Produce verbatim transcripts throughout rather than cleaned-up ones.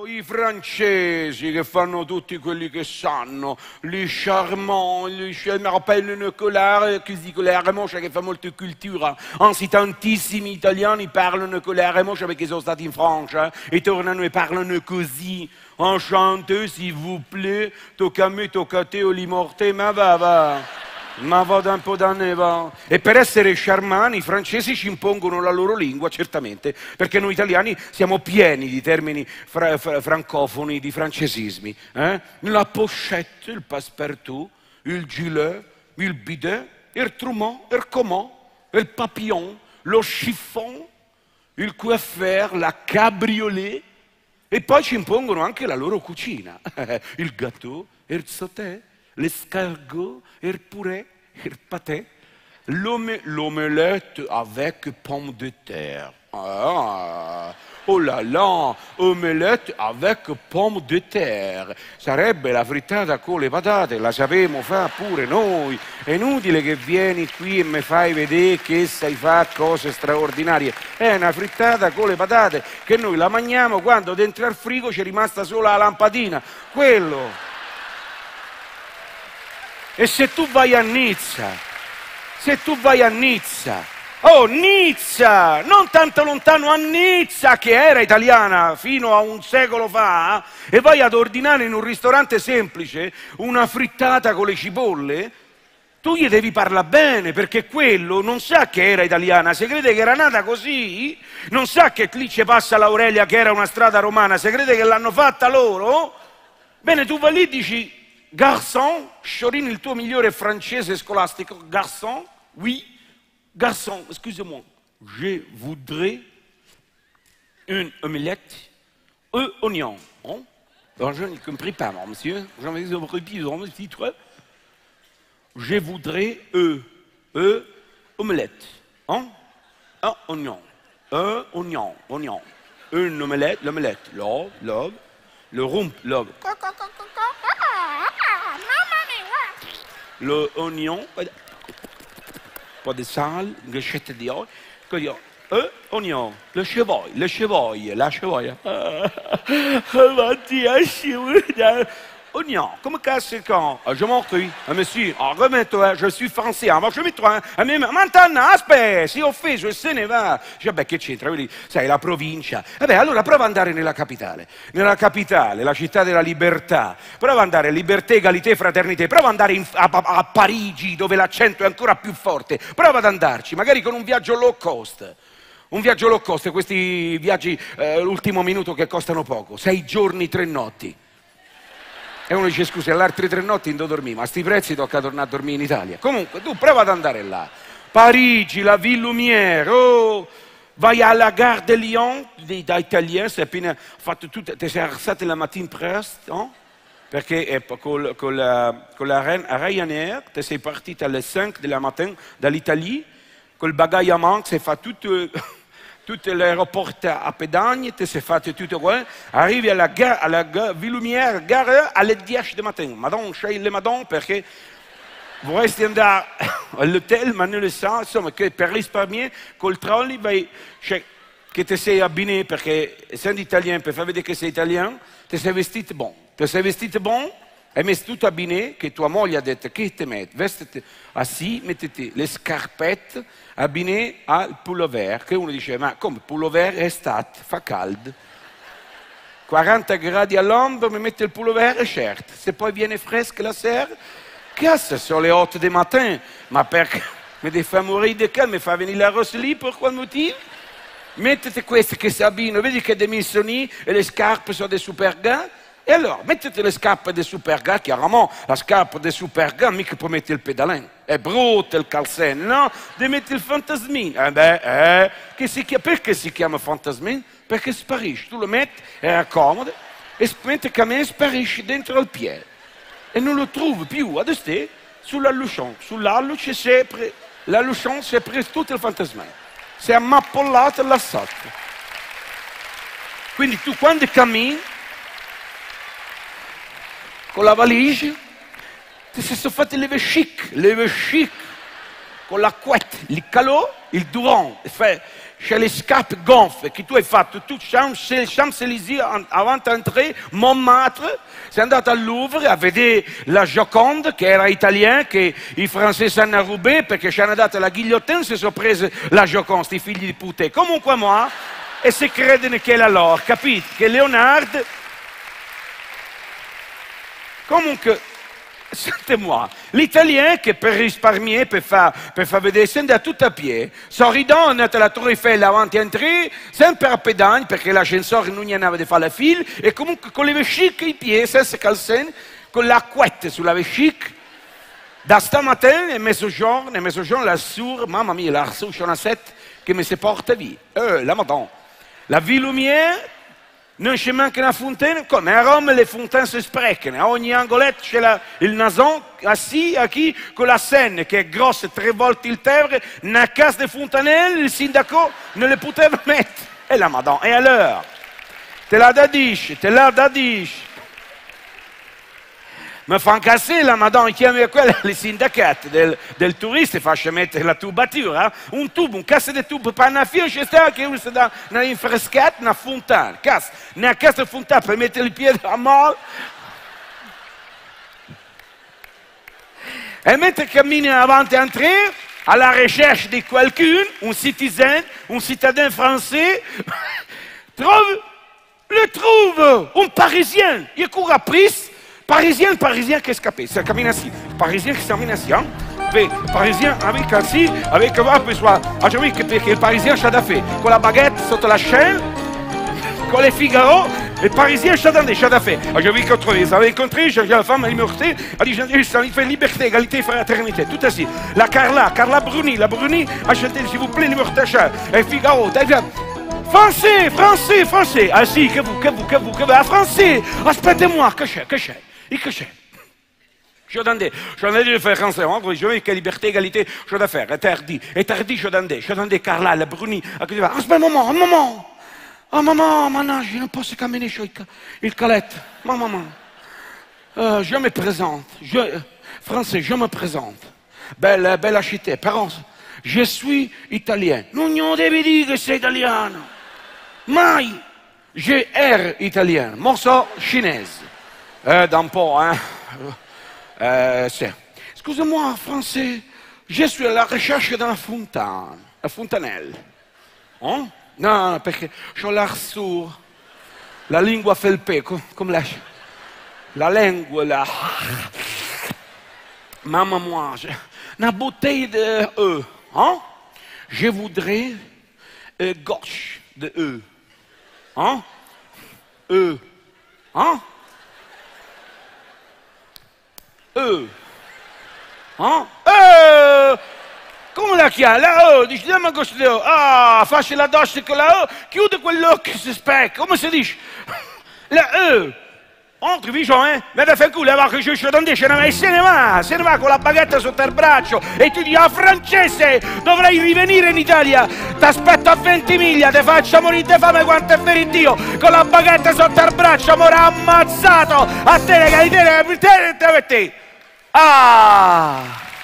i francesi che fanno tutti quelli che sanno, li charmants, li je me rappelle Nicolas, Nicolas Remoscia che fa molta cultura, anzi tantissimi italiani parlano Nicolas Remoscia perché sono stati in Francia e tornano e parlano così, enchanté s'il vous plaît, tocca a me, tocca a te, Oli Morte, ma va va. Ma vado un po' da neva. E per essere charmani i francesi ci impongono la loro lingua, certamente, perché noi italiani siamo pieni di termini fra, fra, francofoni, di francesismi. Eh? La pochette, il passepartout, il gilet, il bidet, il trumeau, il comment, il papillon, lo chiffon, il coiffeur, la cabriolet. E poi ci impongono anche la loro cucina. Il gâteau, il sauté, l'escargot, il purée, il pâté, l'omelette avec pomme de terre. Ah, oh là là, omelette avec pomme de terre. Sarebbe la frittata con le patate, la sapemo fare pure noi. È inutile che vieni qui e mi fai vedere che sai fare cose straordinarie. È una frittata con le patate che noi la mangiamo quando dentro al frigo c'è rimasta solo la lampadina. Quello. E se tu vai a Nizza, se tu vai a Nizza, oh Nizza, non tanto lontano a Nizza che era italiana fino a un secolo fa, e vai ad ordinare in un ristorante semplice una frittata con le cipolle, tu gli devi parlare bene perché quello non sa che era italiana, se crede che era nata così, non sa che lì ci passa l'Aurelia che era una strada romana, se crede che l'hanno fatta loro, bene tu vai lì e dici... Garçon, Sciorini, il tuo migliore francese scolastico, garçon, oui, garçon, excusez-moi, je voudrais une omelette aux oignons. Hein? Alors, je n'ai compris pas, moi, monsieur. J'en ai repris dans le titre. Je voudrais euh, euh, omelette. Hein? Un oignon. Un oignon, oignon. Une omelette, l'omelette. Love, love. Le rump, love. Le oignon, pas de sale, une gâchette d'or, un oignon, le cheval, le cheval, la cheval. Oignon, comment casse quand? Je m'en prie, monsieur, remets-toi, je suis français, je mets-toi, maintenant, aspetta, si offeso e se ne va. Dice, vabbè, che c'entra? Sai, la provincia. Vabbè, allora prova ad andare nella capitale. Nella capitale, la città della libertà. Prova ad andare, libertà, egalité, fraternité. Prova ad andare in, a, a, a Parigi, dove l'accento è ancora più forte. Prova ad andarci, magari con un viaggio low cost. Un viaggio low cost, questi viaggi eh, l'ultimo minuto che costano poco. Sei giorni, tre notti. E uno dice, scusi, all'altre tre notti non dormì, ma a sti prezzi tocca tornare a dormire in Italia. Comunque, tu prova ad andare là. Parigi, la Ville Lumière, oh, vai alla Gare de Lyon, da italien, sei appena fatto tutto, ti sei alzato la mattina presto, no? Perché eh, con, con la, con la Ryanair, ti sei partito alle cinque della mattina dall'Italia, col bagaglio a mano, sei fatto tutto... Tutto l'aeroporto a Pedagne, ti sei fatto tutto quello, arrivi alla, gara, alla gara, Ville Lumière, gara alle dieci di mattina. Madonna, scegli le madonna perché vorresti andare all'hotel, ma non lo sa, insomma, che per risparmiare col trolley, vai, cioè, che ti sei abbinato perché essendo italien, per far vedere che sei italiano, ti sei vestito bon. Ti sei vestito bon, hai messo tutto abbinato, che tua moglie ha detto, che ti metti? Vestiti assi, mettiti le scarpette, abbinato al pullover, che uno dice, ma come pullover è estate, fa caldo. quaranta gradi all'ombra, mi mette il pullover, certo. Se poi viene fresca la sera, cazzo, sono le otto del mattino, ma perché mi devi far morire di caldo, mi fa venire la rossa lì, per quale motivo? Mettete queste che si abbinano, vedi che dei missoni e le scarpe sono dei super gars? E allora, mettete le scarpe dei super gars, chiaramente la scarpa dei super gars mica può mettere il pedalino, è brutto il calzone, no? Devi mettere il fantasmino. Eh beh, eh, che si chiama, perché si chiama fantasmino? Perché sparisce, tu lo metti, è comodo, e mentre cammini sparisce dentro al piede. E non lo trovi più, adesso sull'allucion, sull'alluce c'è sempre, l'allucion si è preso tutto il fantasmino, si è ammappollato là sotto. Quindi tu quando cammini, con la valigia, ti sei fatto le chic, le chic, con la couette, il calot, il Durand, c'è le scarpe gonfie che tu hai fatto, tu Champs-Élysées avant d'entrare, Montmartre, sei andato al Louvre a vedere la Joconde che era italiana, che i francesi hanno rubato perché ci hanno dato la guillotine, si sono presi la Joconde, sti figli di puttane, comunque moi, e si credono che è la loro, capite? Che Leonardo, comunque, sentez-moi, l'italien che per risparmiare, per far, per far vedere, si andava tutto a piedi, sorridendo, è andato alla Tour Eiffel avanti a entrare, sempre a pedagni, perché l'ascensore non gli andava di fare la fila, e comunque con le vesciche ai piedi, senza calzini, con la couette sulla vescica, da stamattina e mezzogiorno, e mezzogiorno la sourd, mamma mia, la sourd c'è una sette che mi si porta via, eh, la madonna, la vie lumière, non c'è manca una fontaine, come a Roma le fontaine si sprecano, a ogni angoletto c'è la, il nason assis a chi con la Seine che è grossa tre volte il Tevere, una casa di fontanelle, il sindaco non le poteva mettere. E la madonna, e allora? Te la da dici, te la da dici. Mi fa incassare la madonna, chiama quella le sindacati del, del turista e faccia mettere la tubatura, eh? Un tubo, un cassa di tubo per una fila, c'è stato che uno si dà una infrescata, una fontana, cassa, una cassa di fontana per mettere il piede a mano. E mentre cammina avanti a entrare, à la recherche di qualcuno, un citoyen, un citadin français, trouve, le trouve, un parisien, il court après. Parisien, parisien qui est escapé, ça cammine ainsi. Parisien qui cammine ainsi, hein. Mais parisien avec ainsi, avec un peu soit. Ah, j'ai vu que le parisien c'ha da fait. Con la baguette sotto la chaîne, con les Figaro, le parisien c'ha da fait. Ah, j'ai vu qu'on trouvait, ça avait rencontré, j'ai la femme, elle m'a dit, elle dit, ça fait liberté, égalité, fraternité, tout ainsi. La Carla, Carla Bruni, la Bruni, a chanté, s'il vous plaît, liberté, et Figaro, français, français, français. Ah si, que vous, que vous, que vous, que vous, ah, français, aspetez-moi, que j'ai, que j'ai. Et que j'ai. Je attendais, je attendais de faire français, je veux que liberté, égalité, je dois faire, interdit, interdit, je attendais, je attendais Carla, la Bruni, à qui va, aspetta un moment, un moment, oh maman, maintenant, je ne peux pas caminer sur il calette, ma maman, euh, je me présente, je, français, je me présente, belle, belle achetée, parents, je suis italien, non, non devi dire que c'est italien, mai, je ero italien, morceau chinoise. Euh, d'un pot, hein. Euh, Excusez-moi, français, je suis à la recherche d'une fontaine, la fontanelle. Hein? Non, parce que j'ai l'air sourd. La lingua fait le paix, comme la... La langue, la... Maman, moi, j'ai une bouteille de E. Hein? Je voudrais euh, gauche de E. Hein? E. Hein? E. Hein? E. Come la chiama? La O, dici, dammi questo O. Ah, faccio la doccia con la O, chiude quell'occhio che si specca, come si dice? La E. Entre, vicino, eh? Vedi a fare il culo, va che ci attendere, ce ne va e se ne va, se ne va con la baguette sotto il braccio e ti dici, ah, francese, dovrei rivenire in Italia, ti aspetto a ventimiglia, ti faccio morire di fame quanto è vero Dio, con la baguette sotto il braccio, amore, ammazzato, a te, che te, te, te, te, ah,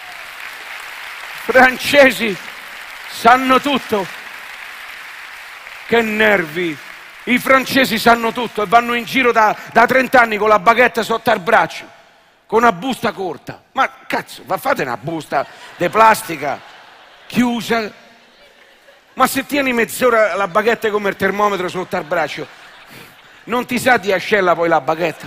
francesi sanno tutto, che nervi. I francesi sanno tutto e vanno in giro da, da trent'anni con la baguette sotto al braccio, con una busta corta. Ma cazzo, fate una busta di plastica chiusa. Ma se tieni mezz'ora la baguette come il termometro sotto al braccio, non ti sa di ascella poi la baguette?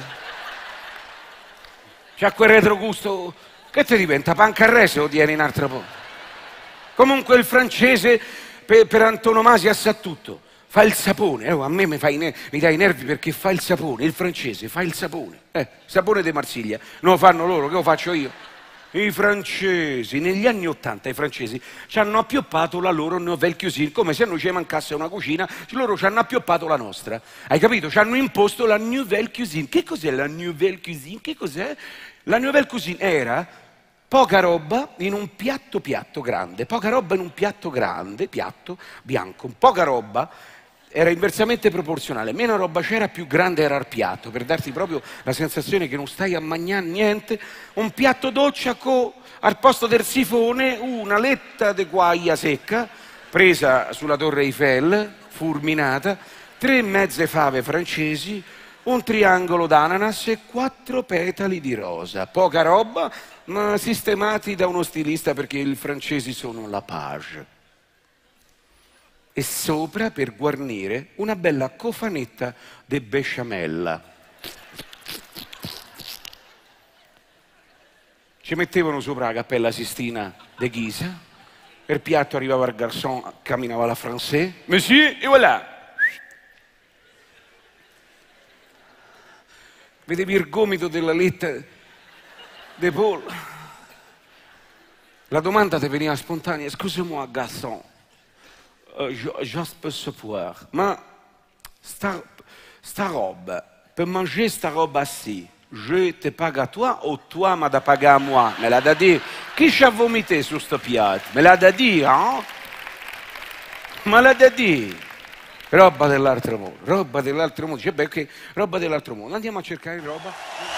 C'ha quel retrogusto, che ti diventa pancarrese o tieni in altro po'? Comunque il francese per, per antonomasia sa tutto. Fa il sapone, eh, a me mi, fa i mi dà i nervi perché fa il sapone, il francese fa il sapone, eh, sapone di Marsiglia, non lo fanno loro, che lo faccio io? I francesi, negli anni Ottanta i francesi ci hanno appioppato la loro nouvelle cuisine, come se a noi ci mancasse una cucina, loro ci hanno appioppato la nostra, hai capito? Ci hanno imposto la nouvelle cuisine. Che cos'è la nouvelle cuisine? Che cos'è? La nouvelle cuisine era poca roba in un piatto piatto grande, poca roba in un piatto grande, piatto bianco, poca roba, era inversamente proporzionale. Meno roba c'era, più grande era il piatto, per darti proprio la sensazione che non stai a mangiare niente. Un piatto doccia con, al posto del sifone, una letta di guaia secca, presa sulla Torre Eiffel, fulminata, tre mezze fave francesi, un triangolo d'ananas e quattro petali di rosa. Poca roba, ma sistemati da uno stilista perché i francesi sono la page. E sopra, per guarnire, una bella cofanetta di besciamella. Ci mettevano sopra la Cappella Sistina de Ghisa, per piatto arrivava il garçon, camminava la français, monsieur, e voilà! Vedevi il gomito della letta de Paul. La domanda ti veniva spontanea, scusa-moi, garçon, Uh, just per savoir, ma sta, sta roba, per manger sta roba sì, je te pague a toi o toi m'as da pagare a moi? Me l'ha da dire? Chi ci ha vomité su sto piatto? Me l'ha da dire, eh? Me l'ha da dire? Roba dell'altro mondo, roba dell'altro mondo, cioè, beh, okay, roba dell'altro mondo, andiamo a cercare roba.